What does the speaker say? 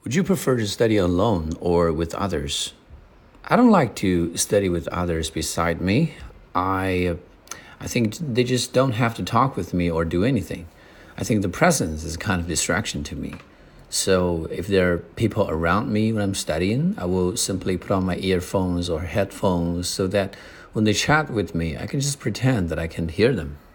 Would you prefer to study alone or with others? I don't like to study with others beside me. I think they just don't have to talk with me or do anything. I think the presence is a kind of distraction to me. So if there are people around me when I'm studying, I will simply put on my earphones or headphones so that when they chat with me, I can just pretend that I can hear them.